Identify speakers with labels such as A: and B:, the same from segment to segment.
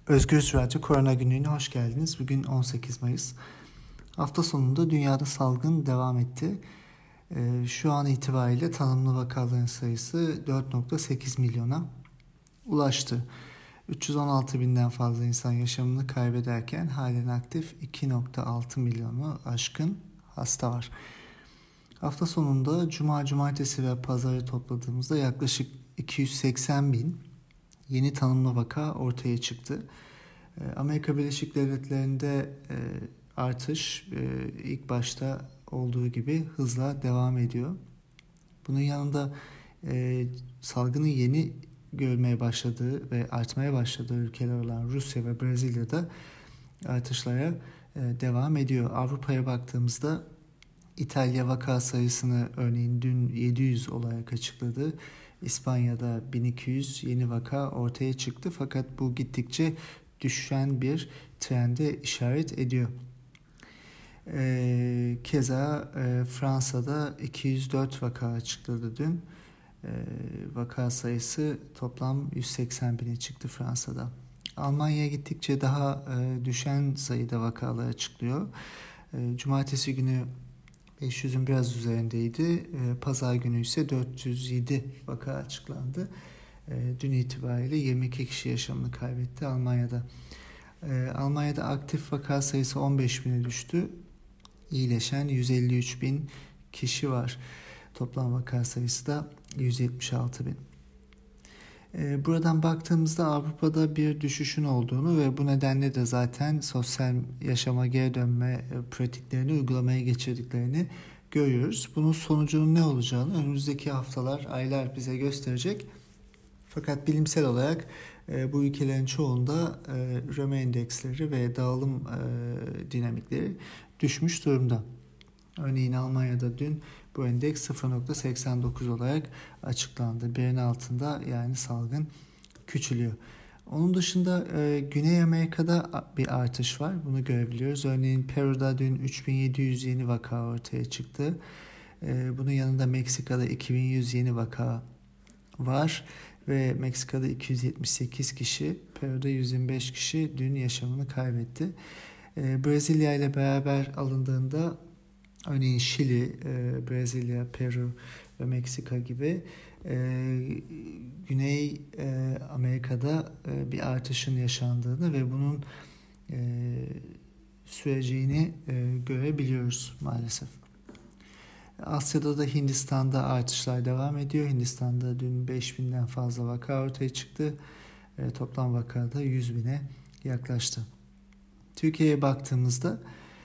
A: Özgür Radyo Korona Günlüğü'ne hoş geldiniz. Bugün 18 Mayıs. Hafta sonunda dünyada salgın devam etti. Şu an itibariyle tanımlı vakaların sayısı 4,8 milyona ulaştı. 316 binden fazla insan yaşamını kaybederken halen aktif 2,6 milyonu aşkın hasta var. Hafta sonunda Cuma, Cumartesi ve Pazarı topladığımızda yaklaşık 280 bin yeni tanımlı vaka ortaya çıktı. Amerika Birleşik Devletleri'nde artış ilk başta olduğu gibi hızla devam ediyor. Bunun yanında salgının yeni görülmeye başladığı ve artmaya başladığı ülkeler olan Rusya ve Brezilya'da artışlara devam ediyor. Avrupa'ya baktığımızda İtalya vaka sayısını örneğin dün 700 olarak açıkladı. İspanya'da 1200 yeni vaka ortaya çıktı fakat bu gittikçe düşen bir trende işaret ediyor. Keza Fransa'da 204 vaka açıkladı dün. Vaka sayısı toplam 180 bine çıktı Fransa'da. Almanya gittikçe daha düşen sayıda vakalar açıklıyor. Cumartesi günü 500'ün biraz üzerindeydi. Pazar günü ise 407 vaka açıklandı. Dün itibariyle 22 kişi yaşamını kaybetti Almanya'da. Almanya'da aktif vaka sayısı 15 bine düştü. İyileşen 153 bin kişi var. Toplam vaka sayısı da 176 bin. Buradan baktığımızda Avrupa'da bir düşüşün olduğunu ve bu nedenle de zaten sosyal yaşama geri dönme pratiklerini uygulamaya geçirdiklerini görüyoruz. Bunun sonucunun ne olacağını önümüzdeki haftalar, aylar bize gösterecek. Fakat bilimsel olarak bu ülkelerin çoğunda üreme endeksleri ve dağılım dinamikleri düşmüş durumda. Örneğin Almanya'da dün bu endeks 0,89 olarak açıklandı. Birin altında, yani salgın küçülüyor. Onun dışında Güney Amerika'da bir artış var. Bunu görebiliyoruz. Örneğin Peru'da dün 3700 yeni vaka ortaya çıktı. Bunun yanında Meksika'da 2100 yeni vaka var. Ve Meksika'da 278 kişi, Peru'da 125 kişi dün yaşamını kaybetti. Brezilya ile beraber alındığında örneğin Şili, Brezilya, Peru ve Meksika gibi Güney Amerika'da bir artışın yaşandığını ve bunun süreceğini görebiliyoruz maalesef. Asya'da da Hindistan'da artışlar devam ediyor. Hindistan'da dün 5000'den fazla vaka ortaya çıktı. Toplam vakada 100 bine yaklaştı. Türkiye'ye baktığımızda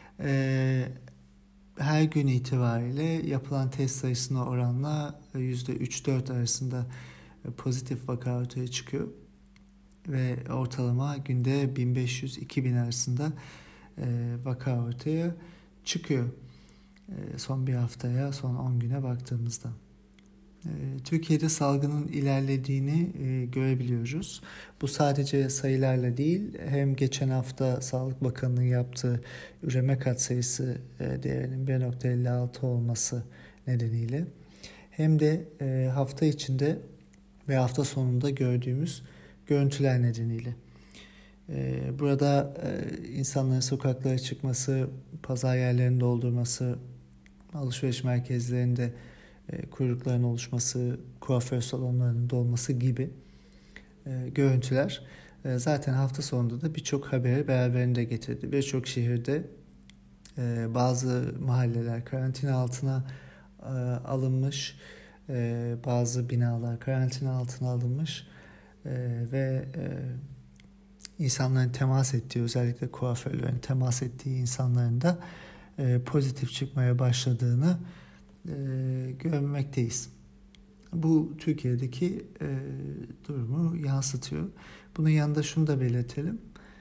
A: her gün itibariyle yapılan test sayısına oranla %3-4 arasında pozitif vaka ortaya çıkıyor. Ve ortalama günde 1500-2000 arasında vaka ortaya çıkıyor. Son bir haftaya, son 10 güne baktığımızda. Türkiye'de salgının ilerlediğini görebiliyoruz. Bu sadece sayılarla değil, hem geçen hafta Sağlık Bakanı'nın yaptığı üreme katsayısı değerinin 1,56 olması nedeniyle, hem de hafta içinde ve hafta sonunda gördüğümüz görüntüler nedeniyle. Burada insanların sokaklara çıkması, pazar yerlerini doldurması, alışveriş merkezlerinde kuyrukların oluşması, kuaför salonlarının dolması gibi görüntüler zaten hafta sonunda da birçok haberi beraberinde getirdi. Birçok şehirde bazı mahalleler karantina altına alınmış, bazı binalar karantina altına alınmış ve insanların temas ettiği, özellikle kuaförlerin temas ettiği insanların da pozitif çıkmaya başladığını görmekteyiz. Bu Türkiye'deki durumu yansıtıyor. Bunun yanında şunu da belirtelim.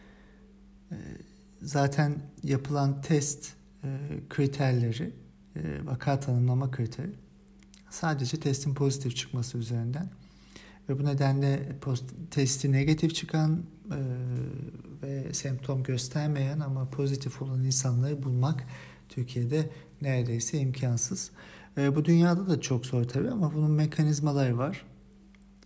A: Zaten yapılan test kriterleri, vaka tanımlama kriteri sadece testin pozitif çıkması üzerinden ve bu nedenle testi negatif çıkan ve semptom göstermeyen ama pozitif olan insanları bulmak Türkiye'de neredeyse imkansız. Bu dünyada da çok zor tabii ama bunun mekanizmaları var.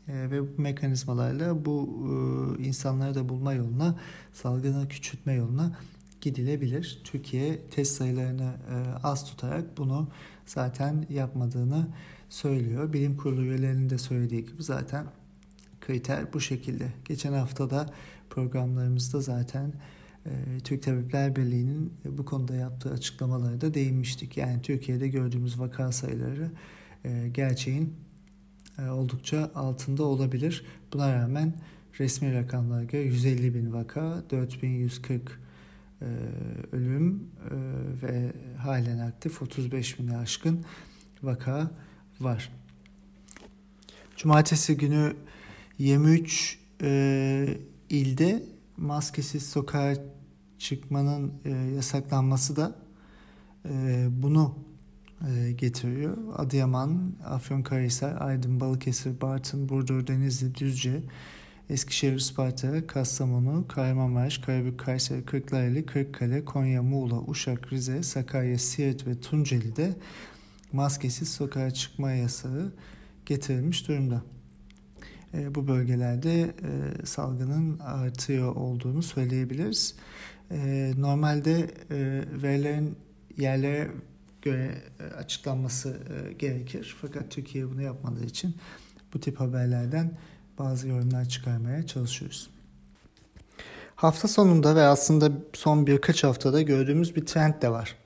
A: Ve bu mekanizmalarla bu insanları da bulma yoluna, salgını küçültme yoluna gidilebilir. Türkiye test sayılarını az tutarak bunu zaten yapmadığını söylüyor. Bilim kurulu üyelerinin de söylediği gibi zaten kriter bu şekilde. Geçen hafta da programlarımızda zaten Türk Tabipler Birliği'nin bu konuda yaptığı açıklamalara da değinmiştik. Yani Türkiye'de gördüğümüz vaka sayıları gerçeğin oldukça altında olabilir. Buna rağmen resmi rakamlara göre 150 bin vaka, 4140 ölüm ve halen aktif 35 bini aşkın vaka var. Cumartesi günü 23 ilde maskesiz sokağa çıkmanın yasaklanması da bunu getiriyor. Adıyaman, Afyonkarahisar, Aydın, Balıkesir, Bartın, Burdur, Denizli, Düzce, Eskişehir, Isparta, Kastamonu, Kahramanmaraş, Karabük, Kayseri, Kırklareli, Kırıkkale, Konya, Muğla, Uşak, Rize, Sakarya, Siirt ve Tunceli'de maskesiz sokağa çıkma yasağı getirilmiş durumda. Bu bölgelerde salgının artıyor olduğunu söyleyebiliriz. Normalde verilerin yerlere göre açıklanması gerekir. Fakat Türkiye bunu yapmadığı için bu tip haberlerden bazı yorumlar çıkarmaya çalışıyoruz. Hafta sonunda ve aslında son birkaç haftada gördüğümüz bir trend de var.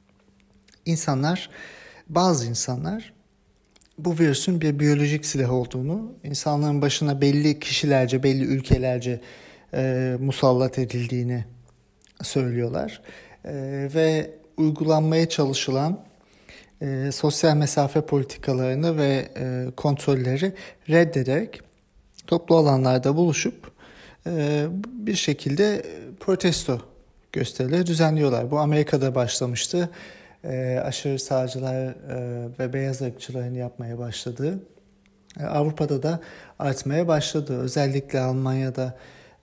A: Bazı insanlar bu virüsün bir biyolojik silah olduğunu, insanların başına belli kişilerce, belli ülkelerce musallat edildiğini söylüyorlar. Ve uygulanmaya çalışılan sosyal mesafe politikalarını ve kontrolleri reddederek toplu alanlarda buluşup bir şekilde protesto gösterileri düzenliyorlar. Bu Amerika'da başlamıştı. Aşırı sağcılar ve beyaz ırkçıların yapmaya başladığı, Avrupa'da da artmaya başladı. Özellikle Almanya'da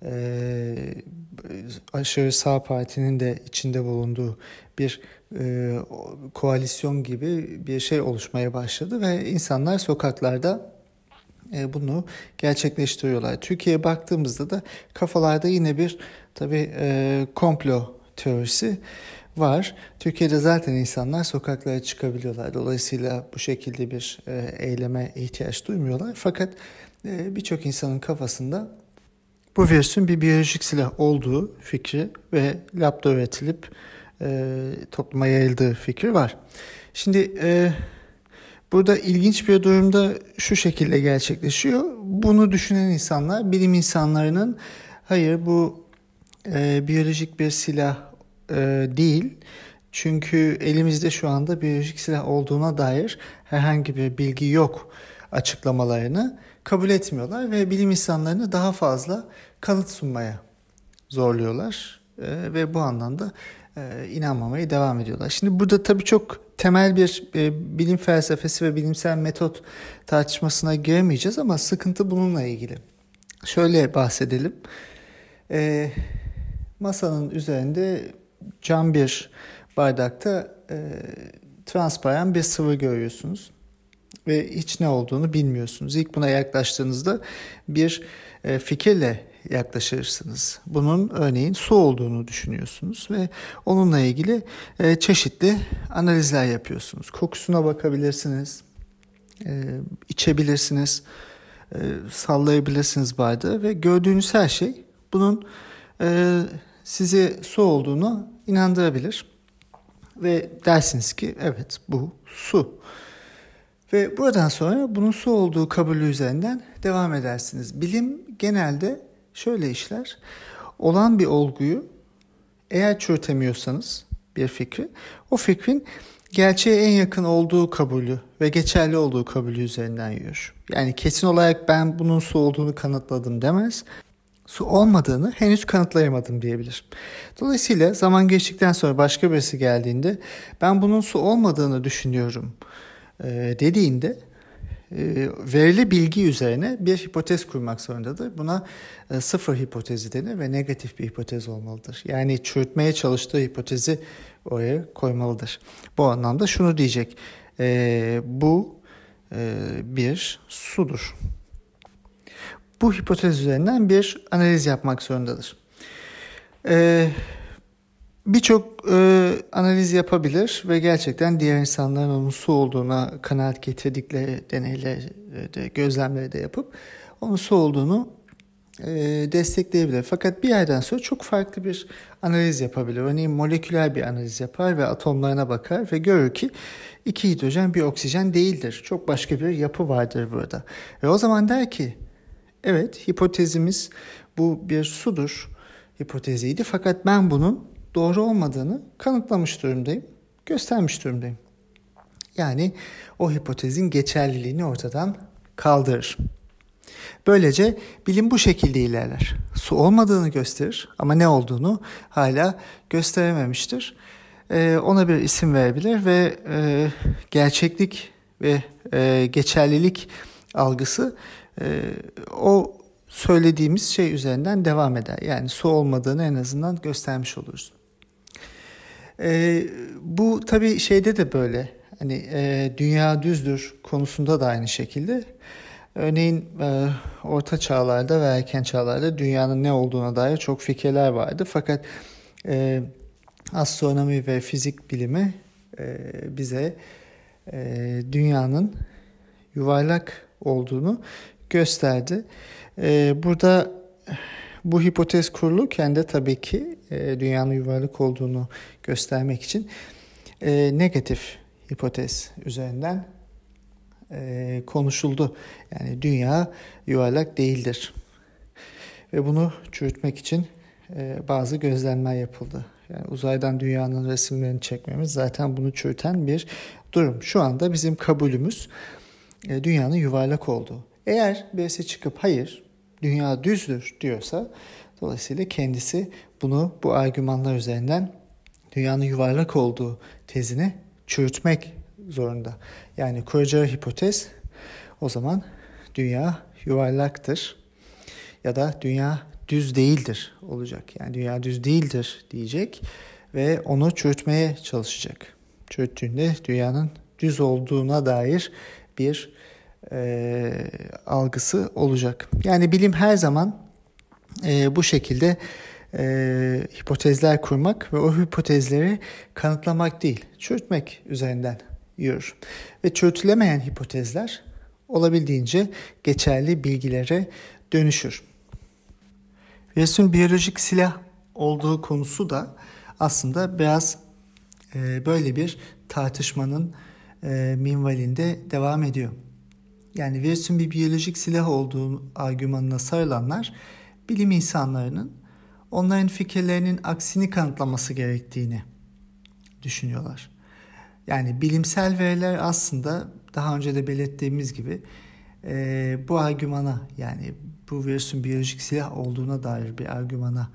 A: aşırı sağ partinin de içinde bulunduğu bir koalisyon gibi bir şey oluşmaya başladı ve insanlar sokaklarda bunu gerçekleştiriyorlar. Türkiye'ye baktığımızda da kafalarda yine bir tabii komplo teorisi var. Türkiye'de zaten insanlar sokaklara çıkabiliyorlar. Dolayısıyla bu şekilde bir eyleme ihtiyaç duymuyorlar. Fakat birçok insanın kafasında bu virüsün bir biyolojik silah olduğu fikri ve labda üretilip topluma yayıldığı fikri var. Şimdi burada ilginç bir durumda şu şekilde gerçekleşiyor. Bunu düşünen insanlar, bilim insanlarının hayır bu biyolojik bir silah değil. Çünkü elimizde şu anda biyolojik silah olduğuna dair herhangi bir bilgi yok açıklamalarını kabul etmiyorlar ve bilim insanlarını daha fazla kanıt sunmaya zorluyorlar ve bu anlamda inanmamaya devam ediyorlar. Şimdi burada tabii çok temel bir bilim felsefesi ve bilimsel metot tartışmasına giremeyeceğiz ama sıkıntı bununla ilgili. Şöyle bahsedelim. Masanın üzerinde cam bir bardakta transparan bir sıvı görüyorsunuz ve hiç ne olduğunu bilmiyorsunuz. İlk buna yaklaştığınızda bir fikirle yaklaşırsınız. Bunun örneğin su olduğunu düşünüyorsunuz ve onunla ilgili çeşitli analizler yapıyorsunuz. Kokusuna bakabilirsiniz, içebilirsiniz, sallayabilirsiniz bardağı ve gördüğünüz her şey bunun size su olduğunu inandırabilir. Ve dersiniz ki evet bu su. Ve buradan sonra bunun su olduğu kabulü üzerinden devam edersiniz. Bilim genelde şöyle işler. Olan bir olguyu eğer çürütemiyorsanız bir fikri, o fikrin gerçeğe en yakın olduğu kabulü ve geçerli olduğu kabulü üzerinden yürür. Yani kesin olarak ben bunun su olduğunu kanıtladım demez. Su olmadığını henüz kanıtlayamadım diyebilir. Dolayısıyla zaman geçtikten sonra başka birisi geldiğinde ben bunun su olmadığını düşünüyorum dediğinde verili bilgi üzerine bir hipotez kurmak zorundadır. Buna sıfır hipotezi denir ve negatif bir hipotez olmalıdır. Yani çürütmeye çalıştığı hipotezi oraya koymalıdır. Bu anlamda şunu diyecek. Bu bir sudur. bu hipotez üzerinden bir analiz yapmak zorundadır. Birçok analiz yapabilir ve gerçekten diğer insanların onun su olduğuna kanaat getirdikleri deneyleri gözlemleri de yapıp onun su olduğunu destekleyebilir. Fakat bir yerden sonra çok farklı bir analiz yapabilir. Örneğin moleküler bir analiz yapar ve atomlarına bakar ve görür ki 2 hidrojen bir oksijen değildir. Çok başka bir yapı vardır burada. Ve o zaman der ki evet, hipotezimiz bu bir sudur hipoteziydi, fakat ben bunun doğru olmadığını kanıtlamış durumdayım, göstermiş durumdayım. Yani o hipotezin geçerliliğini ortadan kaldırır. Böylece bilim bu şekilde ilerler. Su olmadığını gösterir ama ne olduğunu hala gösterememiştir. Ona bir isim verebilir ve gerçeklik ve geçerlilik algısı o söylediğimiz şey üzerinden devam eder. Yani su olmadığını en azından göstermiş oluruz. Bu tabii şeyde de böyle. Hani dünya düzdür konusunda da aynı şekilde. Örneğin orta çağlarda ve erken çağlarda dünyanın ne olduğuna dair çok fikirler vardı. Fakat astronomi ve fizik bilimi bize dünyanın yuvarlak olduğunu gösterdi. Burada bu hipotez kurulurken de tabii ki dünyanın yuvarlak olduğunu göstermek için negatif hipotez üzerinden konuşuldu. Yani dünya yuvarlak değildir. Ve bunu çürütmek için bazı gözlemler yapıldı. Yani uzaydan dünyanın resimlerini çekmemiz zaten bunu çürüten bir durum. Şu anda bizim kabulümüz dünyanın yuvarlak olduğu. Eğer birisi çıkıp hayır dünya düzdür diyorsa, dolayısıyla kendisi bunu bu argümanlar üzerinden dünyanın yuvarlak olduğu tezini çürütmek zorunda. Yani kuracağı hipotez o zaman dünya yuvarlaktır ya da dünya düz değildir olacak. Yani dünya düz değildir diyecek ve onu çürütmeye çalışacak. Çürüttüğünde dünyanın düz olduğuna dair bir algısı olacak. Yani bilim her zaman bu şekilde hipotezler kurmak ve o hipotezleri kanıtlamak değil, çürütmek üzerinden yürür. Ve çürütülemeyen hipotezler olabildiğince geçerli bilgilere dönüşür. Virüsün biyolojik silah olduğu konusu da aslında biraz böyle bir tartışmanın minvalinde devam ediyor. Yani virüsün bir biyolojik silah olduğu argümanına sarılanlar bilim insanlarının onların fikirlerinin aksini kanıtlaması gerektiğini düşünüyorlar. Yani bilimsel veriler aslında daha önce de belirttiğimiz gibi bu argümana, yani bu virüsün biyolojik silah olduğuna dair bir argümana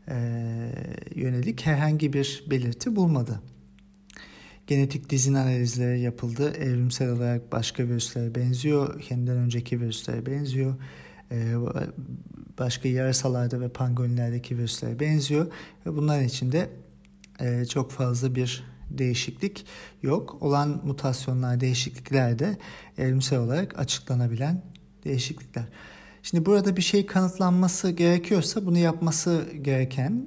A: yönelik herhangi bir belirti bulmadı. Genetik dizin analizleri yapıldı. Evrimsel olarak başka virüslere benziyor. Kendinden önceki virüslere benziyor. Başka yarasalarda ve pangolinlerdeki virüslere benziyor. Ve bunların içinde çok fazla bir değişiklik yok. Olan mutasyonlar, değişiklikler de evrimsel olarak açıklanabilen değişiklikler. Şimdi burada bir şey kanıtlanması gerekiyorsa bunu yapması gereken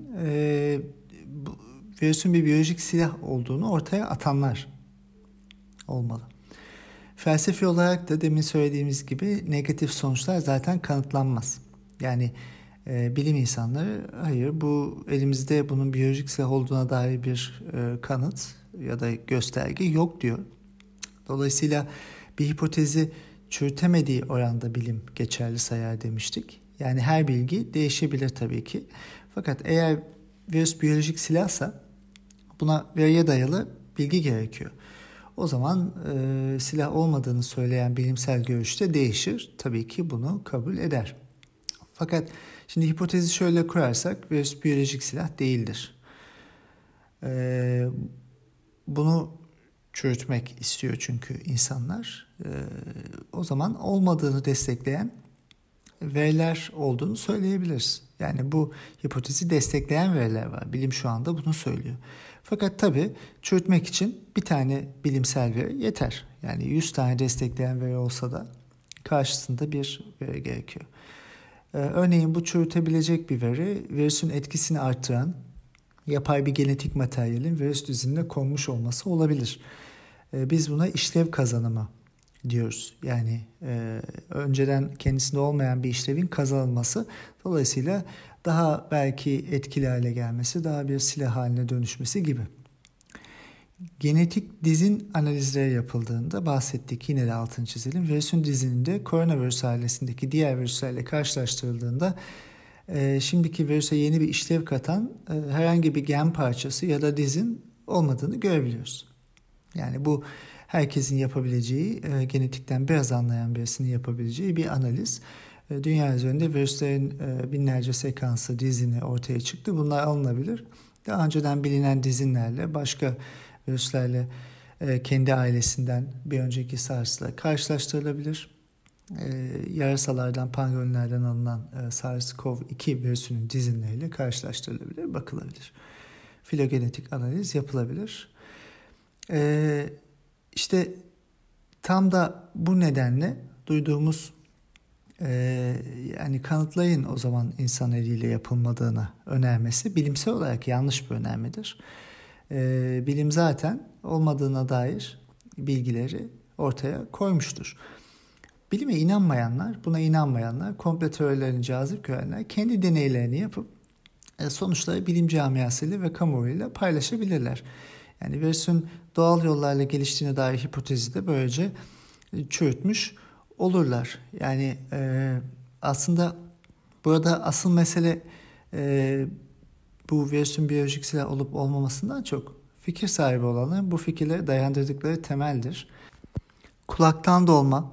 A: virüsün bir biyolojik silah olduğunu ortaya atanlar olmalı. Felsefi olarak da demin söylediğimiz gibi negatif sonuçlar zaten kanıtlanmaz. Yani bilim insanları hayır bu elimizde bunun biyolojik silah olduğuna dair bir kanıt ya da gösterge yok diyor. Dolayısıyla bir hipotezi çürütemediği oranda bilim geçerli sayar demiştik. Yani her bilgi değişebilir tabii ki. Fakat eğer virüs biyolojik silahsa buna veriye dayalı bilgi gerekiyor. O zaman silah olmadığını söyleyen bilimsel görüş de değişir. Tabii ki bunu kabul eder. Fakat şimdi hipotezi şöyle kurarsak virüs biyolojik silah değildir. Bunu çürütmek istiyor çünkü insanlar. O zaman olmadığını destekleyen veriler olduğunu söyleyebiliriz. Yani bu hipotezi destekleyen veriler var. Bilim şu anda bunu söylüyor. Fakat tabii çürütmek için bir tane bilimsel veri yeter. Yani 100 tane destekleyen veri olsa da karşısında bir veri gerekiyor. Örneğin bu çürütebilecek bir veri, virüsün etkisini artıran yapay bir genetik materyalin virüs dizinine konmuş olması olabilir. Biz buna işlev kazanımı diyoruz. Yani önceden kendisinde olmayan bir işlevin kazanılması, dolayısıyla daha belki etkili hale gelmesi, daha bir silah haline dönüşmesi gibi. Genetik dizin analizleri yapıldığında bahsettik, yine de altını çizelim. Virüsün dizininde koronavirüs ailesindeki diğer virüslerle karşılaştırıldığında şimdiki virüse yeni bir işlev katan herhangi bir gen parçası ya da dizin olmadığını görebiliyoruz. Yani bu herkesin yapabileceği, genetikten biraz anlayan birisinin yapabileceği bir analiz. Dünya üzerinde virüslerin binlerce sekansı, dizini ortaya çıktı. Bunlar alınabilir. Daha önceden bilinen dizinlerle, başka virüslerle kendi ailesinden bir önceki SARS'la karşılaştırılabilir. Yarasalardan, pangolinlerden alınan SARS-CoV-2 virüsünün dizinleriyle karşılaştırılabilir, bakılabilir. Filogenetik analiz yapılabilir. İşte tam da bu nedenle duyduğumuz yani kanıtlayın o zaman insan eliyle yapılmadığını önermesi bilimsel olarak yanlış bir önermedir. Bilim zaten olmadığına dair bilgileri ortaya koymuştur. Bilime inanmayanlar, buna inanmayanlar, komplo teorilerini cazip görenler kendi deneylerini yapıp sonuçları bilim camiasıyla ve kamuoyuyla paylaşabilirler. Yani virüsün doğal yollarla geliştiğine dair hipotezi de böylece çürütmüş olurlar. Yani aslında burada asıl mesele bu virüsün biyolojik silah olup olmamasından çok fikir sahibi olanların bu fikirleri dayandırdıkları temeldir. Kulaktan dolma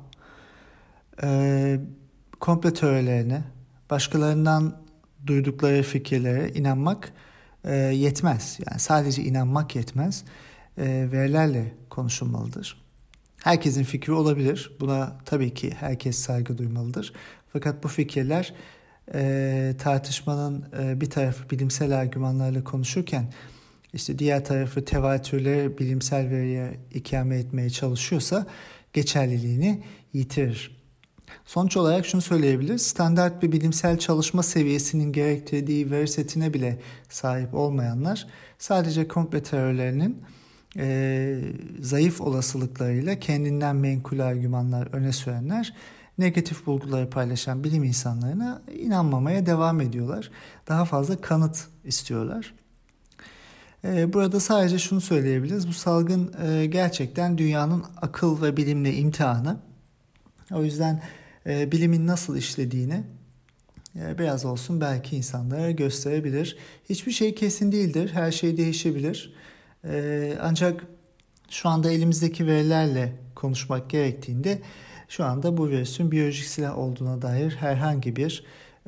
A: komplo teorilerine, başkalarından duydukları fikirlere inanmak yetmez. Yani sadece inanmak yetmez. Verilerle konuşulmalıdır. Herkesin fikri olabilir. Buna tabii ki herkes saygı duymalıdır. Fakat bu fikirler tartışmanın bir tarafı bilimsel argümanlarla konuşurken işte diğer tarafı tevatürleri bilimsel veriye ikame etmeye çalışıyorsa geçerliliğini yitirir. Sonuç olarak şunu söyleyebiliriz. Standart bir bilimsel çalışma seviyesinin gerektirdiği veri setine bile sahip olmayanlar sadece komplo teorilerinin zayıf olasılıklarıyla kendinden menkul argümanlar öne sürenler, negatif bulguları paylaşan bilim insanlarına inanmamaya devam ediyorlar. Daha fazla kanıt istiyorlar. Burada sadece şunu söyleyebiliriz. Bu salgın gerçekten dünyanın akıl ve bilimle imtihanı. O yüzden bilimin nasıl işlediğini biraz olsun belki insanlara gösterebilir. Hiçbir şey kesin değildir. Her şey değişebilir. Ancak şu anda elimizdeki verilerle konuşmak gerektiğinde şu anda bu virüsün biyolojik silah olduğuna dair herhangi bir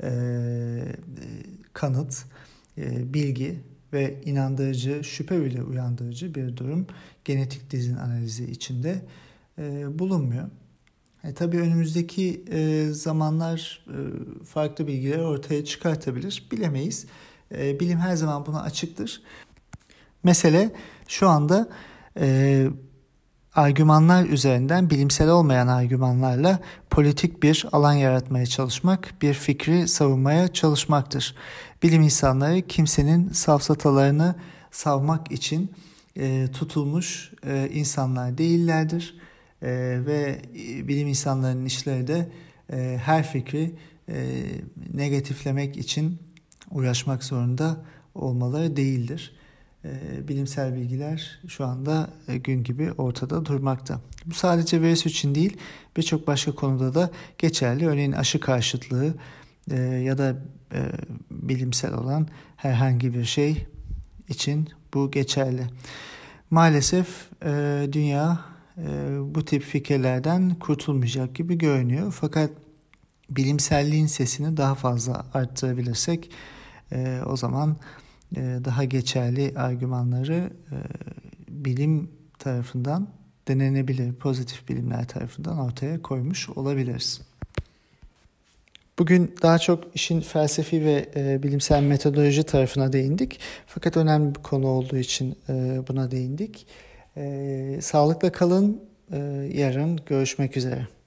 A: kanıt, bilgi ve inandırıcı, şüphe bile uyandırıcı bir durum genetik dizin analizi içinde bulunmuyor. Tabii önümüzdeki zamanlar farklı bilgiler ortaya çıkartabilir, bilemeyiz. Bilim her zaman buna açıktır. Mesele şu anda argümanlar üzerinden bilimsel olmayan argümanlarla politik bir alan yaratmaya çalışmak, bir fikri savunmaya çalışmaktır. Bilim insanları kimsenin safsatalarını savmak için tutulmuş insanlar değillerdir. Ve bilim insanlarının işleri de her fikri negatiflemek için uğraşmak zorunda olmaları değildir. Bilimsel bilgiler şu anda gün gibi ortada durmakta. Bu sadece virüs için değil, birçok başka konuda da geçerli. Örneğin aşı karşıtlığı ya da bilimsel olan herhangi bir şey için bu geçerli. Maalesef dünya bu tip fikirlerden kurtulmayacak gibi görünüyor. Fakat bilimselliğin sesini daha fazla arttırabilirsek o zaman daha geçerli argümanları bilim tarafından denenebilir, pozitif bilimler tarafından ortaya koymuş olabiliriz. Bugün daha çok işin felsefi ve bilimsel metodoloji tarafına değindik. Fakat önemli bir konu olduğu için buna değindik. Sağlıkla kalın. Yarın görüşmek üzere.